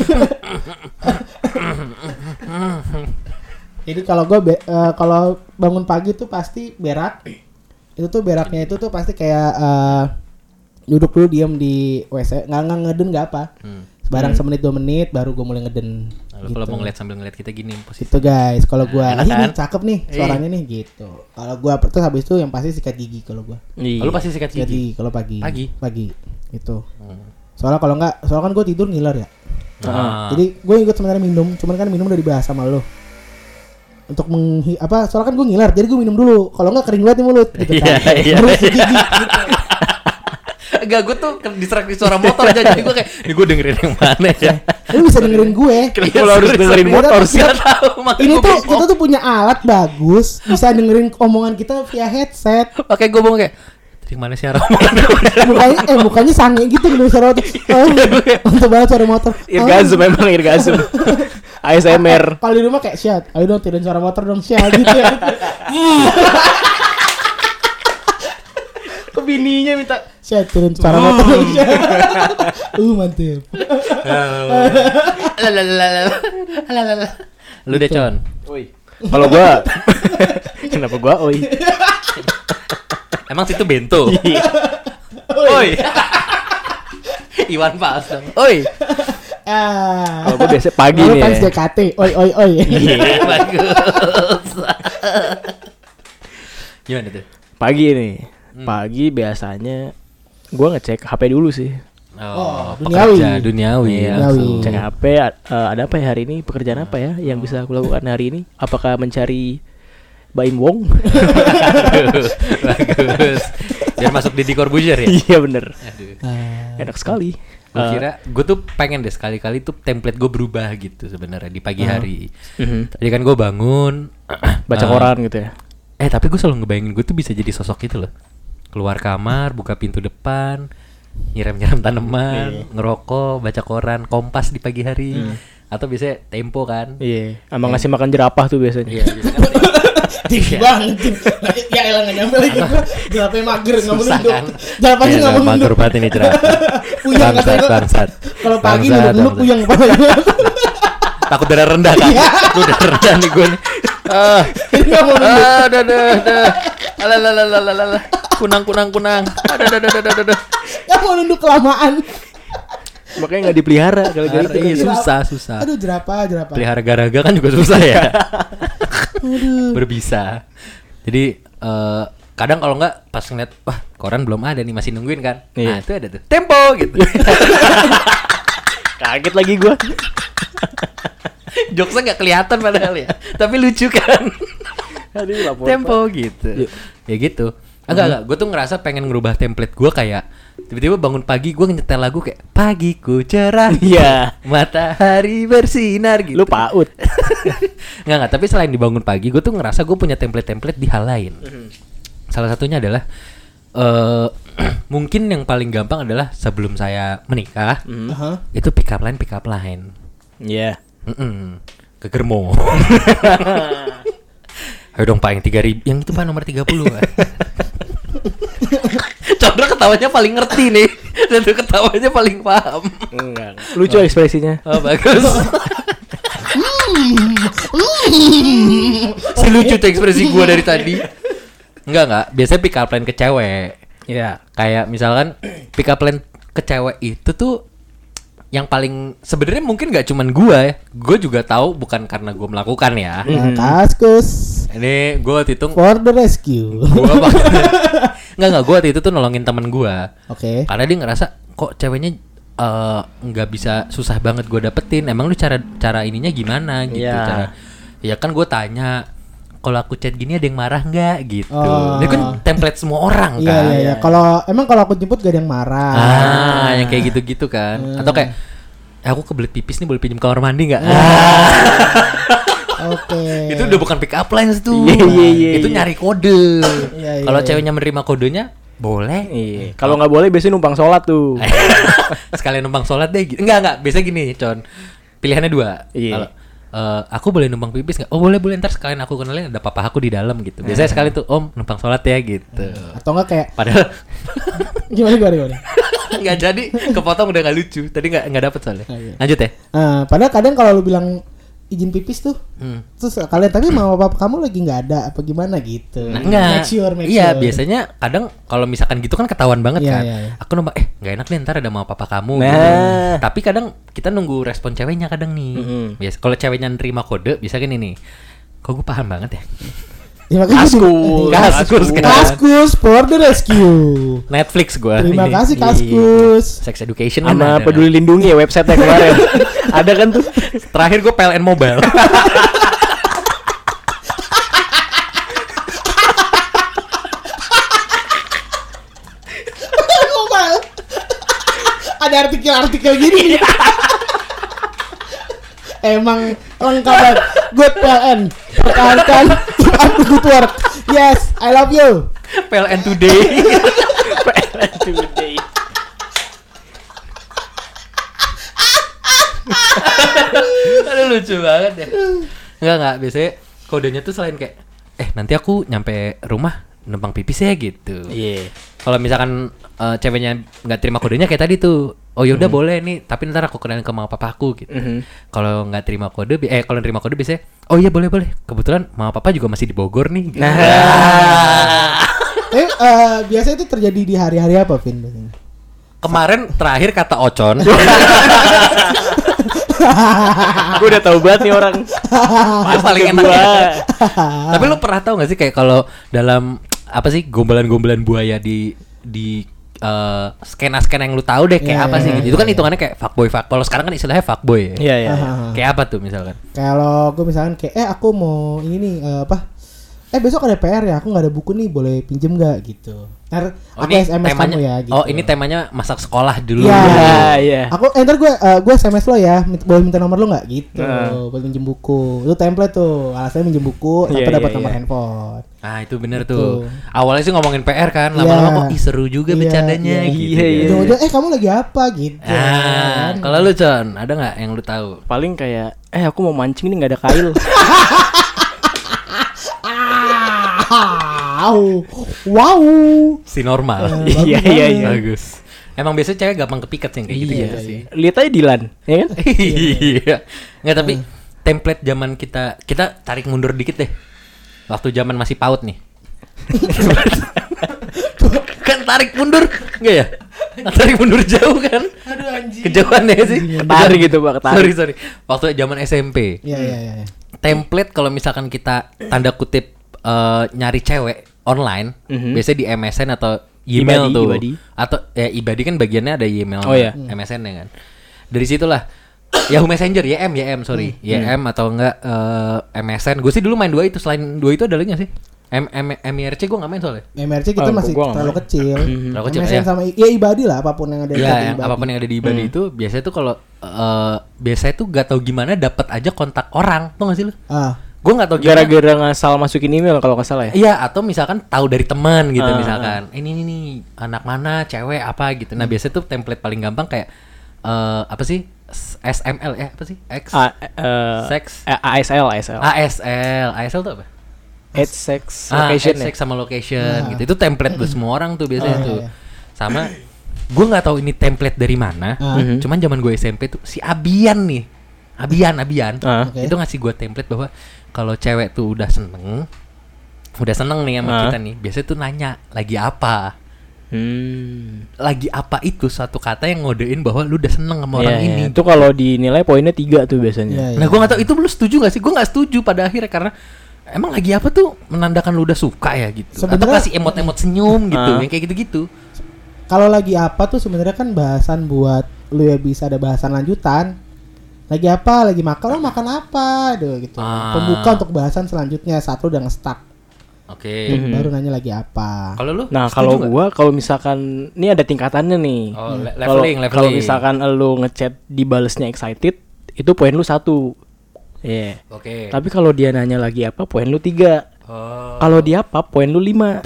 Jadi kalau gue kalau bangun pagi tuh pasti berak. Itu tuh beraknya itu tuh pasti kayak duduk dulu diam di WC, nggak ngeden nggak apa. Barang semenit 2 menit baru gue mulai ngeden. Lalu kalau mau ngeliat sambil ngeliat kita gini posisi. Gitu guys, kalau gue Enak ini kan? cakep nih suaranya nih gitu. Kalau gue terus habis itu yang pasti sikat gigi kalau gue. Iya. Lalu pasti sikat Sikat gigi. gigi kalau pagi. Pagi? Pagi. Gitu. Soalnya kalau nggak, soalnya kan gue tidur ngiler ya. Nah, Jadi gue ikut sebenarnya minum, cuman kan minum udah dibahas sama lo. Untuk soalnya kan gue ngiler, jadi gue minum dulu. Kalau nggak kering banget nih mulut gitu kan. Iya. Baru sikat gigi gitu. enggak, gue tuh distraksi suara motor aja. Jadi gue kayak, ini gue dengerin yang mana ya? Lu bisa dengerin gue. Kenapa lo harus dengerin motor sih? Gak tahu. makanya Ini gua tuh bingung. kita tuh punya alat bagus, bisa dengerin omongan kita via headset. Makanya gue bingung kayak, dari mana sih arah Mukanya sange gitu dengerin suara motor. Untuk banget suara motor. Irgasm memang irgasm. ASMR. Kalau di rumah kayak Syad, ayo dong tidurin suara motor dong Syad gitu ya. Kok bininya minta Syad tidurin suara motor dong Syad. Mantep. Lu deh Con. oi. Kalau gua kenapa gua oi? Emang situ bento. Iya. Oi. Iwan Fals dong. Oi. Ah. Kalau gua biasa pagi Lalu nih. fans Ya. JKT. Oi. Iya, bagus. Gimana tuh? Pagi nih. Pagi biasanya gua ngecek HP dulu sih. Oh, pekerja duniawi. Iya, Duniawi. cek HP ada apa ya hari ini? Pekerjaan apa ya yang bisa aku lakukan hari ini? Apakah mencari Baim Wong? Bagus. Biar masuk Deddy Corbuzier ya. Iya bener. Aduh. Enak sekali. Gue kira gue tuh pengen deh sekali-kali tuh template gue berubah gitu sebenarnya di pagi hari. Tadi kan gue bangun, Baca koran gitu ya. Tapi gue selalu ngebayangin gue tuh bisa jadi sosok itu loh. Keluar kamar, buka pintu depan, nyiram-nyiram tanaman, ngerokok, baca koran, Kompas di pagi hari, atau biasanya Tempo kan. Iya, sama ngasih makan jerapah tuh biasanya. Iya, biasanya kan Tinggi banget. Ya elah nggak nyampe lagi gua. Jerapahnya mager nggak mau susah nunduk. kan. Jerapahnya nggak mau mager nunduk. banget ini jerapah. Puyeng katanya. Bangsat. Kalau pagi Bangsat, nunduk bangsat. puyeng kepalanya. Takut darah rendah kan? Iya. Lu darah rendah nih gue nih. Jadi nggak mau nunduk. Dah. Alah. Kunang. Ada. Nggak mau nunduk kelamaan. Makanya nggak dipelihara kalau gitu. Iya, susah. Aduh jerapah. Pelihara garaga kan juga susah ya. Berbisa. Jadi kadang kalau nggak pas ngeliat wah koran belum ada nih masih nungguin kan. Iya. Nah itu ada tuh Tempo gitu. Kaget lagi gua. Jokesnya nggak kelihatan padahal ya, tapi lucu kan. Aduh, lapor. Tempo gitu. Ya gitu. Enggak. Gue tuh ngerasa pengen ngerubah template gue kayak tiba-tiba bangun pagi gue nyetel lagu kayak pagiku cerah. Iya. Matahari bersinar gitu. Lu PAUD. Enggak. Tapi selain dibangun pagi, gue tuh ngerasa gue punya template-template di hal lain. Salah satunya adalah mungkin yang paling gampang adalah sebelum saya menikah itu pick up line. Iya. Ke Germo. Ayo dong Pak yang 3.000, yang itu Pak nomor 30 Pak. Chandra ketawanya paling ngerti nih. Dan tuh ketawanya paling paham. Enggak. Lucu ekspresinya. Oh bagus. Si lucu tuh ekspresi gua dari tadi. Enggak. Biasanya pick up line ke cewek. Iya. Kayak misalkan pick up line ke cewek itu tuh yang paling sebenarnya mungkin gak cuman gua ya. Gua juga tahu bukan karena gua melakukan ya. Kaskus. Ini gua waktu itu For the rescue. Enggak, gua waktu itu tuh nolongin temen gua. Oke. Karena dia ngerasa kok ceweknya nggak bisa, susah banget gue dapetin. Emang lu cara ininya gimana gitu? Iya. Cara ya kan gue tanya kalau aku chat gini ada yang marah nggak gitu. Oh. Dia kan template semua orang Iya kan. iya. Kalau aku jemput gak ada yang marah. Yang kayak gitu-gitu kan. Atau kayak aku kebelet pipis nih, boleh pinjam kamar mandi nggak? Oke. Itu udah bukan pick up lines tuh. Iya. Itu nyari kode. Iya, Kalau iya. ceweknya menerima kodenya boleh. Iya. Kalau nggak boleh biasanya numpang sholat tuh. Sekalian numpang sholat deh gitu. Enggak. Biasanya gini, Con. Pilihannya 2. Iya. Kalau aku boleh numpang pipis nggak? Oh boleh, ntar sekalian aku kenalin ada papa aku di dalam gitu. Biasanya sekali tuh Om numpang sholat ya gitu. Atau enggak kayak Padahal gimana? nggak jadi, kepotong udah nggak lucu. Tadi nggak dapet soalnya. Iya. Lanjut ya. Padahal kadang kalau lu bilang izin pipis tuh, terus kalian tapi mama papa kamu lagi nggak ada apa gimana gitu. Nah, enggak. Make Iya, sure. biasanya kadang kalau misalkan gitu kan ketahuan banget Iya, kan. iya, iya. Aku numpang nggak enak nih ntar ada mama papa kamu Nah. gitu. Tapi kadang kita nunggu respon ceweknya kadang nih. Biasa kalau ceweknya nerima kode bisa kan ini. Kok gue paham banget ya. Ya, makanya Kaskus kan. Kaskus for the rescue. Netflix gua. Terima Ini. kasih Iya. Kaskus. Sex Education kan Sama ada. Peduli Lindungi ya website kemarin. Ada kan tuh. Terakhir gue PLN Mobile. Mobile. Ada artikel-artikel gini. Emang lengkap banget. Good PLN. Pertahankan up to good work. Yes, I love you. PLN Today. Aduh lucu banget ya. Enggak biasanya kodenya tuh selain kayak nanti aku nyampe rumah numpang pipis ya gitu. Iya. Kalau misalkan ceweknya nggak terima kodenya kayak tadi tuh, oh yaudah boleh nih, tapi ntar aku kenalin ke mama papaku gitu. Kalau nggak terima kode, kalau terima kode biasanya, oh iya boleh. Kebetulan mama papa juga masih di Bogor nih. Gitu. Biasanya itu terjadi di hari-hari apa, Vin? Kemarin terakhir kata Ocon. Gue udah tahu banget nih orang. Yang paling enak ya. Tapi lu pernah tahu nggak sih kayak kalau dalam apa sih gombalan-gombalan buaya di skena-skena yang lu tahu deh kayak apa sih gitu. Itu kan hitungannya kayak fuckboy. Kalau sekarang kan istilahnya fuckboy ya. Iya. Kayak apa tuh misalkan? Kalau gue misalkan kayak aku mau ini nih besok ada PR ya, aku nggak ada buku nih, boleh pinjem nggak gitu. Ntar aku SMS kamu ya gitu. Oh, ini temanya masa sekolah dulu. Iya. Aku ntar gue SMS lo ya, boleh minta nomor lo nggak gitu, boleh pinjem buku. Itu template tuh, alasannya minjem buku, tanpa dapat nomor handphone. Ah, itu bener tuh. Awalnya sih ngomongin PR kan, lama-lama kok seru juga bercandanya gitu. Iya. Kamu lagi apa gitu. Kalau lu Con, ada nggak yang lu tahu? Paling kayak aku mau mancing nih nggak ada kail. Wow. Si normal. Iya. Bagus. Emang biasanya cewek gampang kepikat sih kayak gitu sih. Lihat aja Dilan, ya kan? Iya. Nggak, tapi template zaman kita tarik mundur dikit deh. Waktu zaman masih PAUD nih. Kan tarik mundur enggak ya? Tarik mundur jauh kan? Aduh anjing. Kejauhan ya sih. Ketarik gitu, Pak, ketarik. Sorry. Waktu zaman SMP. Iya. Template kalau misalkan kita tanda kutip nyari cewek online, biasanya di MSN atau email tuh. Ibadi. Atau Ibadi kan bagiannya ada email MSN ya kan. Dari situlah Yahoo Messenger, YM sorry. YM atau enggak MSN. Gue sih dulu main dua itu. Selain dua itu ada lagi nggak sih? MIRC gue nggak main soalnya. MIRC kita masih terlalu kecil. Terlalu kecil MSN ya. sama Ibadi lah, apapun yang ada di Ya, Ibadi. apapun yang ada di Ibadi itu biasanya tuh kalau biasanya tuh gak tahu gimana dapat aja kontak orang, tuh nggak sih lu? Gue nggak tahu gimana. Gara-gara ngasal masukin email kalau nggak salah ya. Iya, atau misalkan tahu dari teman gitu misalkan. Ini nih anak mana, cewek apa gitu. Nah, biasanya tuh template paling gampang kayak apa sih? SML ya, apa sih? Sex. ASL. ASL tuh apa? Age, sex, location sex sama location gitu. Itu template buat semua orang tuh biasanya tuh. Sama gue nggak tahu ini template dari mana. Cuman zaman gue SMP tuh si Abian nih. Abian. Itu ngasih gue template bahwa kalau cewek tuh udah seneng nih sama kita nih, biasanya tuh nanya lagi apa. Lagi apa itu satu kata yang ngodein bahwa lu udah seneng sama orang ini. Itu kalau dinilai poinnya 3 tuh biasanya. Nah, gue nggak tahu itu lu setuju nggak sih? Gue nggak setuju pada akhirnya karena emang lagi apa tuh menandakan lu udah suka ya gitu. Atau kasih emot-emot senyum gitu, yang kayak gitu-gitu. Kalau lagi apa tuh sebenarnya kan bahasan buat lu ya, bisa ada bahasan lanjutan. Lagi apa? Lagi makan, lo makan apa? Gitu. Pembuka untuk bahasan selanjutnya saat lu udah nge-stuck. Oke. Baru nanya lagi apa. Kalau lu? Nah, kalau gua kalau misalkan ini ada tingkatannya nih. Oh, leveling. Kalau misalkan lu ngechat dibalesnya excited, itu poin lu 1. Iya. Oke. Tapi kalau dia nanya lagi apa, poin lu 3. Kalau dia apa, poin lu 5.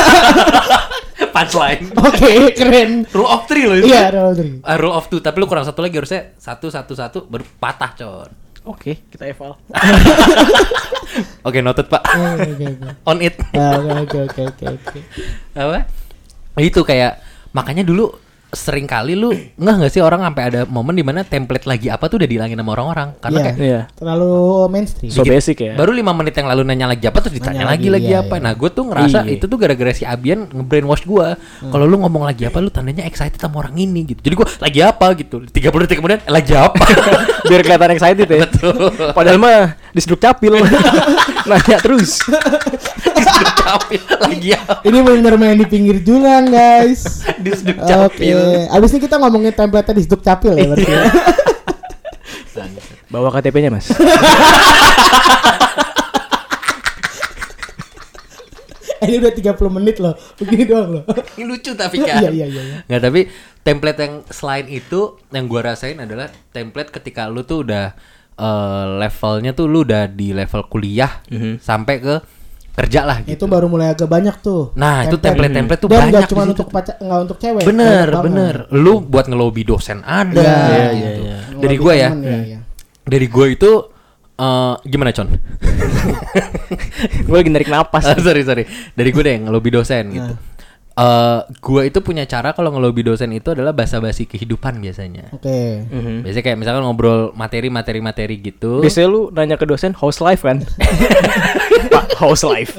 Punchline. Oke, keren. Rule of 3 loh itu. Iya, rule of 3. Rule of 2, tapi lu kurang satu lagi, harusnya 1 baru patah, Con. Oke, kita eval. Oke, noted, Pak. Oke. On it. Oke. Apa? Itu kayak makanya dulu sering kali lu nggak sih orang sampai ada momen dimana template lagi apa tuh udah dihilangin sama orang-orang karena kayak terlalu mainstream. So basic ya. Baru 5 menit yang lalu nanya lagi apa terus ditanya lagi apa. Nah, gue tuh ngerasa itu tuh gara-gara si Abian nge-brainwash gue. Kalau lu ngomong lagi apa lu tandanya excited sama orang ini gitu. Jadi gue lagi apa gitu. 30 detik kemudian lagi apa. Biar kelihatan excited ya. Betul. Padahal mah diseduk capil. Nanya terus. Diseduk capil lagi apa. Ini benar main di pinggir jurang, guys. Diseduk capil. Abis ini kita ngomongin template di Seduk Capil ya berarti. Bawa KTP-nya, Mas. Ini udah 30 menit loh. Begini doang loh. Ini lucu tapi kan. Iya. Nggak, tapi template yang selain itu yang gua rasain adalah template ketika lu tuh udah levelnya tuh lu udah di level kuliah sampai ke kerja lah gitu. Itu baru mulai agak banyak tuh. Nah, itu template tuh dan banyak. Dan cuma untuk nggak untuk cewek. Bener. Lu buat ngelobi dosen ada. Iya. Dari gue ya. Dari gue itu gimana, Con? Gue lagi narik napas. Sorry. Dari gue deh ngelobi dosen gitu. Gue itu punya cara kalau ngelobi dosen itu adalah basa-basi kehidupan biasanya. Oke. Biasanya kayak misalkan ngobrol materi gitu. Biasanya lu nanya ke dosen house life kan? Pak, house life.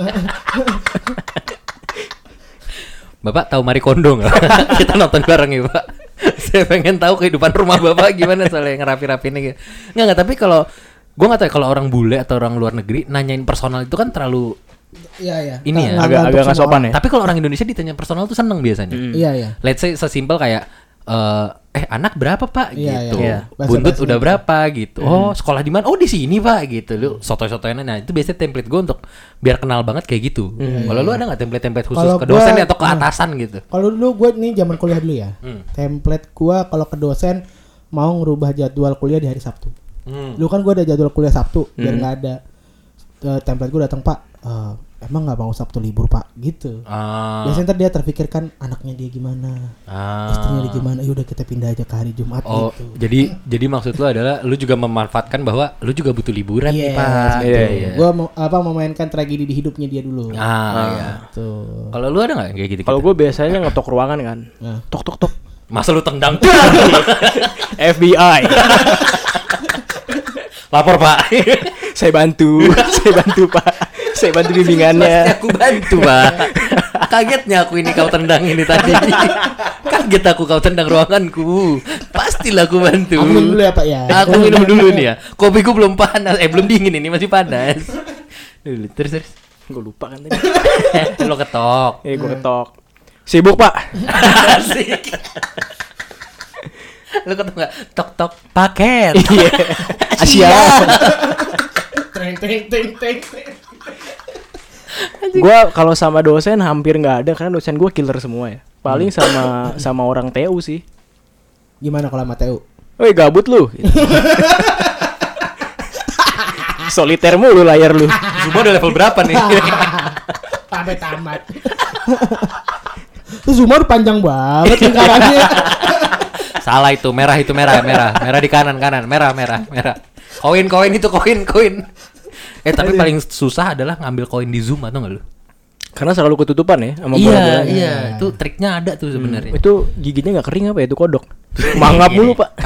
Bapak tahu Marie Kondo nggak? Kita nonton bareng ya, Pak. Saya pengen tahu kehidupan rumah Bapak gimana soalnya ngerapi-rapiinnya gitu. Nggak, tapi kalau gue nggak tahu kalau orang bule atau orang luar negeri nanyain personal itu kan terlalu Iya. Ini ya agak nggak sopan ya. Tapi kalau orang Indonesia ditanya personal tuh seneng biasanya. Iya. Let's say sesimpel kayak anak berapa pak Iya, gitu, iya. buntut Bahasa-bahasa udah gitu. berapa gitu, oh sekolah di mana, oh di sini pak gitu, lu sotoy-sotoyan. Nah itu biasanya template gue untuk biar kenal banget kayak gitu. Kalau lu ada nggak template khusus Kalau ke dosen gua- atau ke atasan gitu? Kalau dulu gue nih zaman kuliah dulu ya. Template gue kalau ke dosen mau ngerubah jadwal kuliah di hari Sabtu. Dulu kan gue ada jadwal kuliah Sabtu biar nggak ada template gue datang pak. Emang nggak mau Sabtu libur pak gitu. Biasanya ntar dia terpikirkan anaknya dia gimana, istrinya dia gimana. Yaudah kita pindah aja ke hari Jumat Oh, gitu. jadi maksud lu adalah lu juga memanfaatkan bahwa lu juga butuh liburan nih Yes, pak. Iya, Gitu. iya. Gue memainkan tragedi di hidupnya dia dulu. Iya. Tuh. Kalau lu ada nggak yang kayak gitu? Kalau gue biasanya ngetok ruangan kan. Nah. Tok tok tok. Masa lu tendang? FBI. Lapor pak. Saya bantu Pak. Saya bantu Pasti bimbingannya. aku bantu pak. Kagetnya aku ini kau tendang ini tadi. Kaget aku kau tendang ruanganku. Pastilah aku bantu. Aku minum dulu ya pak ya. Aku minum dulu nih ya. Kopiku belum panas, belum dingin ini masih panas. Dulu terus. Gue lupa kan tadi. Lo ketok. Gue ketok. Sibuk Pak. Asik. Lo ketok nggak? Tok tok paket. Iya. Asia. Teng teng teng teng. Gue kalau sama dosen hampir nggak ada karena dosen gue killer semua ya. Paling sama orang TU sih. Gimana kalau sama TU? Woi gabut lu. Soliter mulu layar lu. Semua udah level berapa nih? Sampai tamat. Terus Zuma udah panjang banget lingkarannya. Salah itu merah di kanan merah. Koin itu koin. Tapi paling susah adalah ngambil koin di Zoom atau nggak lu? Karena selalu ketutupan ya sama bola-bolanya. Iya, itu triknya ada tuh sebenarnya. Itu giginya nggak kering apa ya itu kodok. Mangap mulu Pak.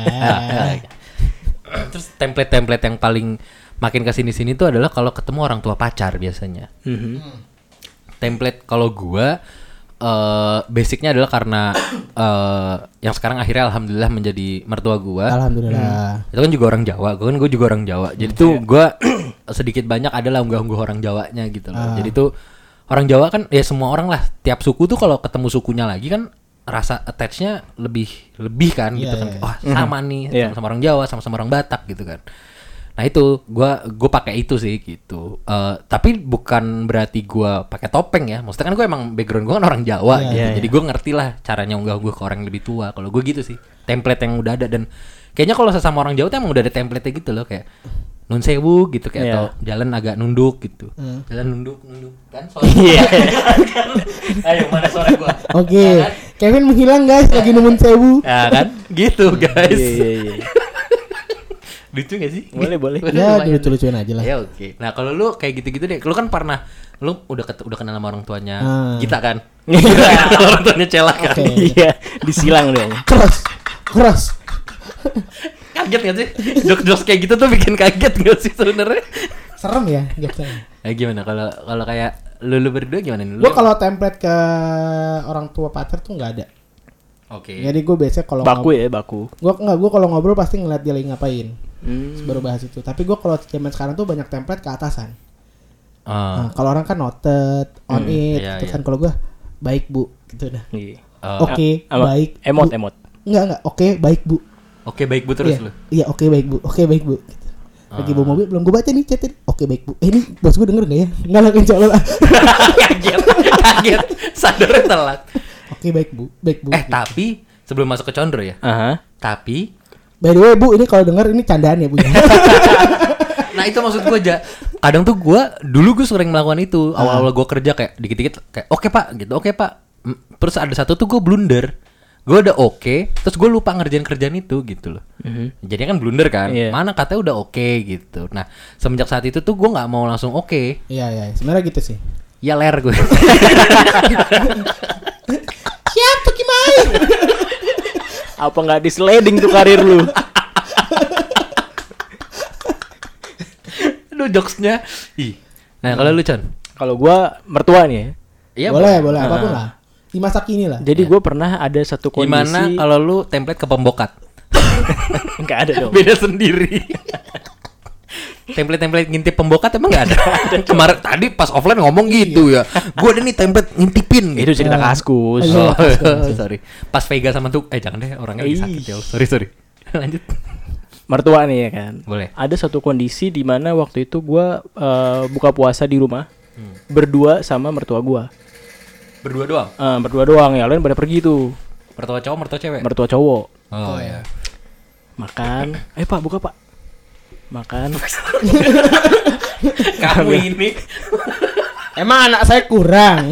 Terus template yang paling makin kesini-sini tuh adalah kalau ketemu orang tua pacar biasanya. Template kalau gua basicnya adalah karena yang sekarang akhirnya alhamdulillah menjadi mertua gua. Alhamdulillah. Itu kan juga orang Jawa, gue juga orang Jawa. Jadi tuh gua sedikit banyak adalah unggah-ungguh orang Jawanya gitu loh. Jadi tuh orang Jawa kan ya semua orang lah, tiap suku tuh kalau ketemu sukunya lagi kan rasa attach-nya lebih kan gitu kan. Wah, sama nih, sama orang Jawa, sama orang Batak gitu kan. Nah itu gue pakai itu sih gitu. Tapi bukan berarti gue pakai topeng ya. Maksudnya kan gue emang background gue kan orang Jawa gitu. Jadi gue ngerti lah caranya unggah-ungguh ke orang yang lebih tua. Kalau gue gitu sih, template yang udah ada. Dan kayaknya kalau sesama orang Jawa tuh emang udah ada template-nya gitu loh, kayak nun sewu gitu kayak atau jalan agak nunduk gitu. Jalan nunduk kan soalnya. Ayo mana suara gue? Oke. Kevin menghilang guys lagi nemuin sewu. Ya kan gitu guys. Iya. Lucu gak sih? Boleh. Ya lucu-lucuin aja lah. Ya oke. Nah kalau lu kayak gitu-gitu deh, lu kan pernah, lu udah kenal sama orang tuanya kita kan? Orang tuanya Cela kan? Oke. Iya, disilang dia. Keras. Kaget gak sih? Jokes kayak gitu tuh bikin kaget gak sih sebenarnya? Serem ya jokesnya. Gimana kalau kayak lu berdua gimana nih? Gue kalau template ke orang tua pacar tuh nggak ada. Oke. Jadi gue biasanya kalau baku. Gue kalau ngobrol pasti ngeliat dia lagi ngapain. Baru bahas itu. Tapi gue kalau zaman sekarang tuh banyak template ke atasan. Nah, kalau orang kan noted, on it, iya, gitu iya. kan. Kalau gue baik bu, gitu dah. Iya. Oke, baik. Emot. Enggak. Oke, baik bu. Oke baik bu terus lu. Iya, oke baik bu. Gitu. Lagi bawa mobil belum gue baca nih chatnya. Oke baik bu. Ini bos gue denger nggak ya? Nggak lah insya Allah. Kaget. Sadarnya telat. Oke baik bu. Tapi sebelum masuk ke Condro ya. Tapi By the way bu, ini kalau denger ini candaan ya bu. nah itu maksud gue aja. Kadang tuh dulu gue sering melakukan itu. Awal-awal gue kerja kayak dikit-dikit kayak oke pak gitu, oke pak. Terus ada satu tuh gue blunder. Gue udah oke, terus gue lupa ngerjain kerjaan itu gitu loh. Jadi kan blunder kan. Mana katanya udah oke gitu. Nah semenjak saat itu tuh gue nggak mau langsung oke. Iya, sebenarnya gitu sih. Ya ler gue. Siap tuh gimana? Apa nggak di-sliding tuh karir lu? Aduh jokesnya. Nah kalau lu Con? Kalau gua mertua nih ya. Iya boleh apapun lah. Di masa kini lah. Jadi gue pernah ada satu kondisi. Gimana kalau lu template ke pembokat? Nggak ada dong. Beda sendiri. template ngintip pembokat emang nggak ada. Kemarin tadi pas offline ngomong gitu ya. Gue ada nih template ngintipin. Itu cerita Kaskus. Oh, sorry. Pas Vega sama tuh, jangan deh orangnya lagi sakit ya. Sorry. Lanjut. Mertua nih ya kan. Boleh. Ada satu kondisi di mana waktu itu gue buka puasa di rumah berdua sama mertua gue. Berdua doang. Berdua doang, ya lain pada pergi tuh. Mertua cowok, mertua cewek. Mertua cowok. Oh ya. Makan. Pak buka pak. Makan. Kamu ini. Emang anak saya kurang.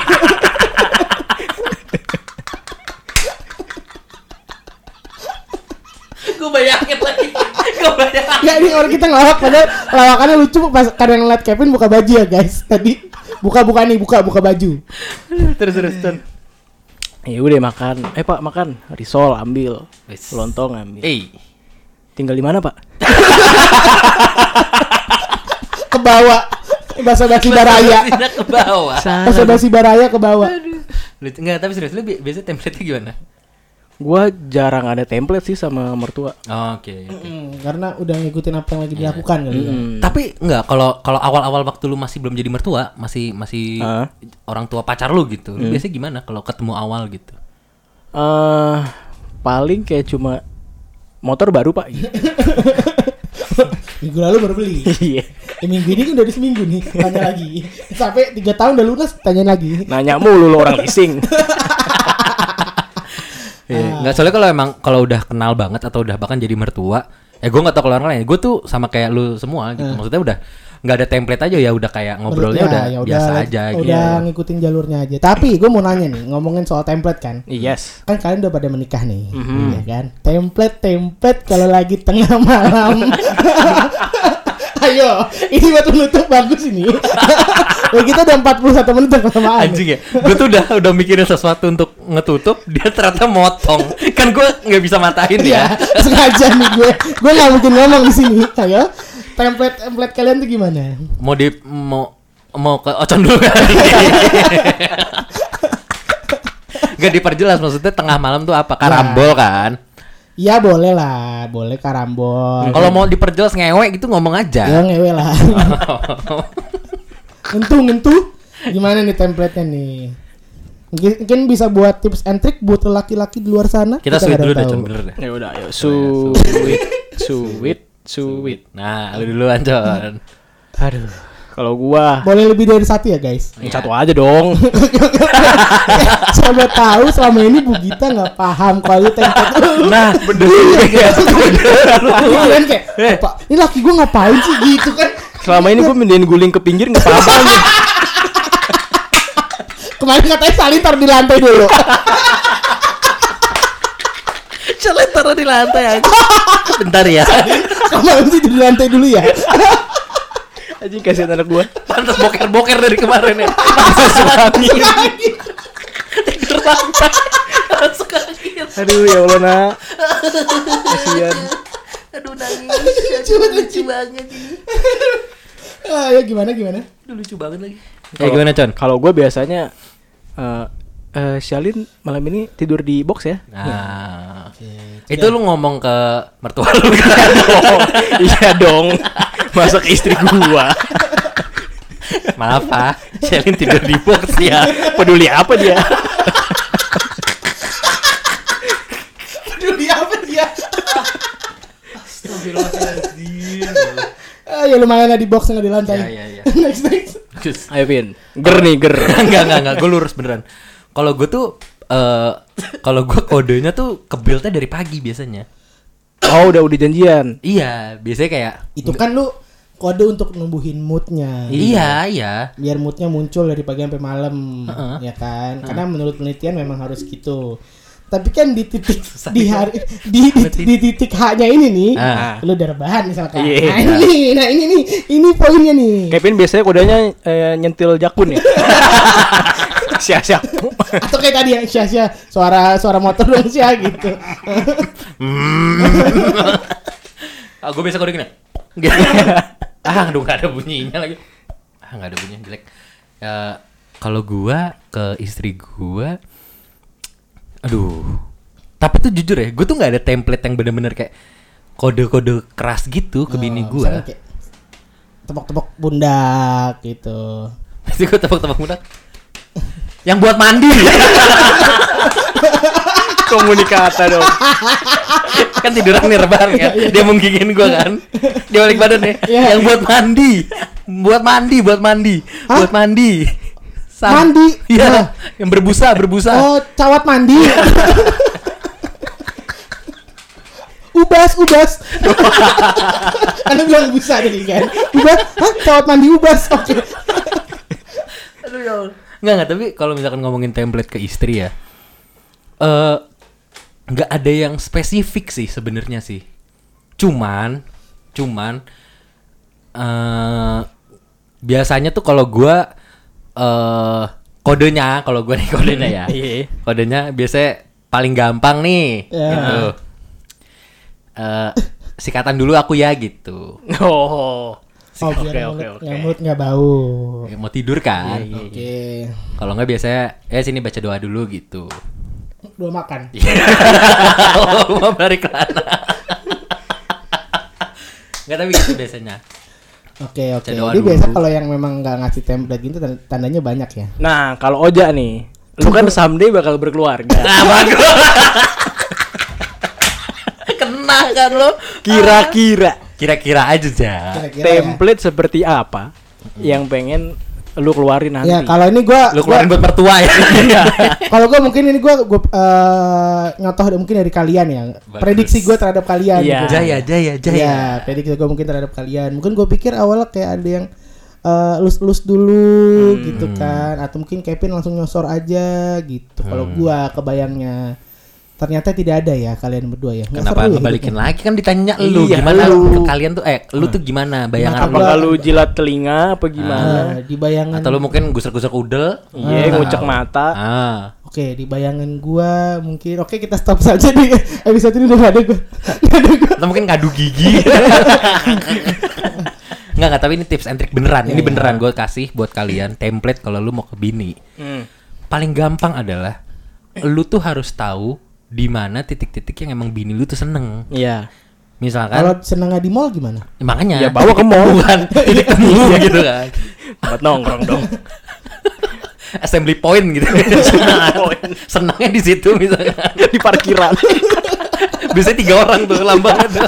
Gue bayangin lagi. Ya ini orang kita ngelawak padahal lawakannya lucu pas kadang ngeliat Kevin buka baju ya guys. Tadi buka baju. Terus. Ya udah makan. Pak makan. Risol ambil. Lontong ambil. Tinggal di mana pak? Ke bawah. Basa-basi baraya. Ke bawah. Basa-basi baraya ke bawah. Enggak, tapi serius lu biasanya template-nya gimana? Gua jarang ada template sih sama mertua. Oke. Karena udah ngikutin apa yang lagi dilakukan kali ya. Tapi enggak, kalau awal-awal waktu lu masih belum jadi mertua, masih orang tua pacar lu gitu. Lu biasanya gimana kalau ketemu awal gitu? Paling kayak cuma motor baru pak. Gitu. Minggu lalu baru beli. Iya. Minggu ini kan udah seminggu nih. Tanya lagi. Sampai 3 tahun udah lunas. Tanya lagi. Nanya mulu lo orang leasing. Nggak, soalnya kalau udah kenal banget atau udah bahkan jadi mertua, gue nggak tahu kalau orang lain. Gue tuh sama kayak lu semua gitu. Maksudnya udah nggak ada template aja ya, udah kayak ngobrolnya udah biasa aja gitu. Udah ngikutin jalurnya aja. Tapi gue mau nanya nih, ngomongin soal template kan. Yes. Kan kalian udah pada menikah nih, ya kan? Template kalau lagi tengah malam. Ayo, ini buat menutup bagus ini. Ya, kita udah 41 menit kelamaan. Anjing ya, gue tuh udah mikirin sesuatu untuk ngetutup, dia ternyata motong. Kan gue nggak bisa matahin ya. Sengaja nih gue nggak mungkin ngomong di sini. Ayo, template kalian tuh gimana? Mau ke Ocon dulu kan? Gak diperjelas, maksudnya tengah malam tuh apa? Karambol kan? Iya boleh lah, boleh karambol. Kalau mau diperjelas ngewe gitu ngomong aja. Ya ngewe lah. Ngentu. Gimana nih template-nya nih? Mungkin bisa buat tips and trick buat laki-laki di luar sana. Kita sweet dulu deh, bener deh. Ya udah, ayo sweet. Nah, lu duluan, Con. Aduh, kalau gua boleh lebih dari satu ya guys. Satu aja dong. Coba tahu selama ini Bu Gita nggak paham kalau template. Nah, bener kan kayak, Pak, ini laki gue ngapain sih gitu kan? Selama ini gua mindahin guling ke pinggir nggak apa-apa. Kemarin katanya salin taruh di lantai dulu. Salin taruh di lantai aja. Bentar ya. Kemarin sih di lantai dulu ya. Anjing kasihan anak gua. Pantas boker-boker dari kemarin ya. Masuk angin. Tidur lantai. Masuk angin. Aduh ya Allah nak. Kasihan. Aduh nangis. Lucu banget ini. Ya gimana? Lucu banget lagi. Gimana Con? Kalau gua biasanya Shalin malam ini tidur di box ya. Nah, itu lu ngomong ke mertua lu kan? Iya dong. Masa ke istri gua. Maaf Pak, Shalin tidur di box ya. Peduli apa dia? Peduli apa dia? Astagfirullahaladzim. Ya lumayan lah di box nggak di lantai. Ya. Next. Ayo Vin. Ger. Enggak, gue lurus beneran. Kalau gue tuh kalau gue kodenya tuh ke build-nya dari pagi biasanya. Oh, udah janjian. Iya, biasanya kayak itu kan lu kode untuk numbuhin moodnya. Iya. Biar moodnya muncul dari pagi sampai malam, ya kan? Karena menurut penelitian memang harus gitu. Tapi kan di titik di titik H-nya ini nih, lu udah rebahan misalkan. Nah ini poinnya nih. Kevin biasanya kodenya nyentil jakun ya. Sia-sia. Atau kayak tadi yang sia-sia suara motor dong sia gitu. Gue biasa kode gini. Aduh gak ada bunyinya lagi. Gak ada bunyinya jelek. Kalau gua ke istri gua, aduh. Tapi tuh jujur ya, gue tuh gak ada template yang bener-bener kayak kode-kode keras gitu ke bini gua. tepok-tepok pundak gitu. Pasti gue tepok-tepok pundak. Yang buat mandi. Komunikata dong. Kan tiduran nih rebahan kan. Dia menggigin gue kan. Dia balik badan nih. Yang buat mandi. Buat mandi. Mandi. Iya. Yang berbusa. Oh, cawat mandi. Ubas. Anda bilang busa tadi kan. Ubas, cawat mandi ubas. Oke. Aduh ya. Enggak, tapi kalau misalkan ngomongin template ke istri ya. Enggak ada yang spesifik sih sebenarnya sih. Cuman biasanya tuh kalau gua kodenya ya. Kodenya biasanya paling gampang nih gitu. Sikatan dulu aku ya gitu. Biar mulut nggak bau. Ya, mau tidur kan? Oke. Kalau nggak biasanya sini baca doa dulu gitu. Doa makan. Mau balik lana. Nggak, tapi gitu biasanya. Oke. Jadi biasa kalau yang memang nggak ngasih template gitu tandanya banyak ya. Nah, kalau Oja nih, lu kan someday bakal berkeluarga. Nah, bagus. Kena kan lo. Kira-kira aja ya. Template ya? Seperti apa yang pengen lu keluarin nanti? Ya kalau ini lu keluarin buat mertua ya. Kalau gue mungkin ini gue nyotoh mungkin dari kalian ya. Bagus. Prediksi gue terhadap kalian. Iya. Gitu. Jaya. Ya, prediksi gue mungkin terhadap kalian. Mungkin gue pikir awalnya kayak ada yang lus dulu gitu kan, atau mungkin Kevin langsung nyosor aja gitu. Kalau gue kebayangnya. Ternyata tidak ada ya kalian berdua ya. Kenapa ngebalikin lagi kan ditanya lu gimana kalian tuh lu tuh gimana bayangan lu? Apakah lu jilat telinga apa gimana? Di bayangan atau lu mungkin gusar-gusar udel? Iya, ngucek mata. Oke, di bayangan gua mungkin kita stop saja di episode ini udah ada gua. Atau mungkin ngadu gigi. Enggak, tapi ini tips and trick beneran. Ini beneran gue kasih buat kalian template kalau lu mau ke bini. Paling gampang adalah lu tuh harus tahu di mana titik-titik yang emang bini lu tuh seneng. Iya. Misalkan kalau senengnya di mall gimana? Ya, makanya ya bawa ke mall bukan titik temu gitu kan. Buat nongkrong dong. Assembly point gitu. Senangnya di situ misalkan di parkiran. Biasanya 3 orang tuh lambangan tuh.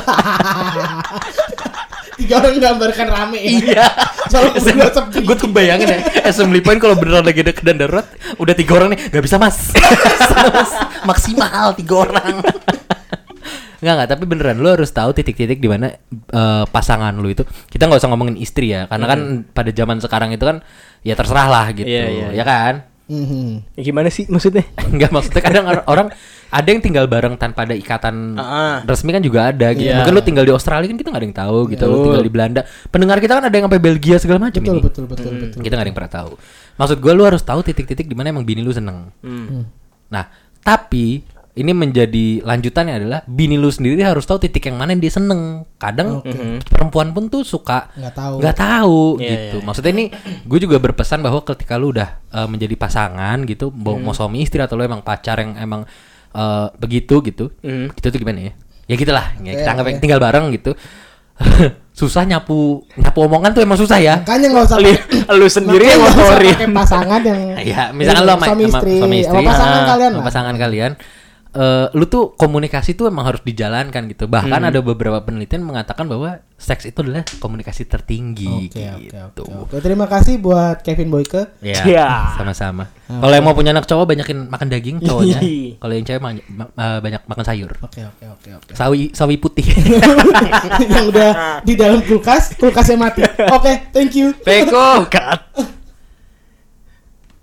3 orang gambarkan rame ya. Iya. Gue tuh bayangin ya, assembly point kalau beneran lagi ada keadaan darurat, udah 3 orang nih, nggak bisa mas. Maksimal 3 orang. Nggak, tapi beneran lu harus tahu titik-titik di mana pasangan lu itu. Kita nggak usah ngomongin istri ya, karena kan pada zaman sekarang itu kan ya terserah lah gitu, ya kan? Ya gimana sih maksudnya? Enggak, maksudnya kadang orang ada yang tinggal bareng tanpa ada ikatan resmi kan juga ada gitu. Mungkin lu tinggal di Australia kan kita nggak ada yang tahu gitu. Lu tinggal di Belanda. Pendengar kita kan ada yang sampai Belgia segala macam ini. Betul. Kita nggak ada yang pernah tahu. Maksud gue lu harus tahu titik-titik di mana emang bini lu seneng. Nah, tapi ini menjadi lanjutannya adalah bini lu sendiri harus tahu titik yang mana yang dia seneng. Kadang perempuan pun tuh suka nggak tahu gitu. Maksudnya ini gue juga berpesan bahwa ketika lu udah menjadi pasangan gitu, mau suami istri atau lu emang pacar yang emang begitu gitu, itu tuh gimana ya? Ya gitulah. Ya, kita anggap tinggal bareng gitu. Susah nyapu omongan tuh emang susah ya. Makanya nggak usah lu sendiri yang ngotorin pasangan yang ya misalkan lo sama istri sama pasangan kalian. Lu tuh komunikasi tuh emang harus dijalankan gitu. Bahkan ada beberapa penelitian mengatakan bahwa seks itu adalah komunikasi tertinggi gitu. Oke, terima kasih buat Kevin Boyke. Ya. Sama-sama. Kalau yang mau punya anak cowok banyakin makan daging cowoknya. Kalau yang cewek banyak makan sayur. Oke. Sawi putih. Yang udah di dalam kulkasnya mati. Oke, thank you. Peko.